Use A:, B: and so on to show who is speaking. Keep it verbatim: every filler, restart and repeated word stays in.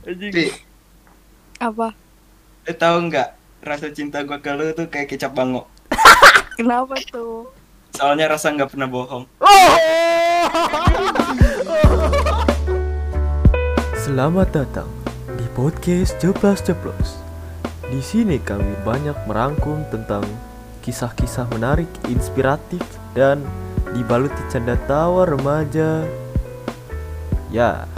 A: Anjing.
B: Pi,
C: Apa?
A: Eh tahu nggak rasa cinta gua ke lu tuh kayak kecap bango.
C: Kenapa tuh?
A: Soalnya rasa nggak pernah bohong.
D: Selamat datang di podcast Ceplas Ceplos. Di sini kami banyak merangkum tentang kisah-kisah menarik, inspiratif, dan dibaluti canda tawa remaja. Ya,